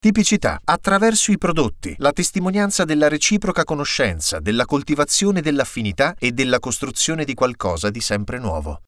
Tipicità. Attraverso i prodotti, la testimonianza della reciproca conoscenza, della coltivazione dell'affinità e della costruzione di qualcosa di sempre nuovo.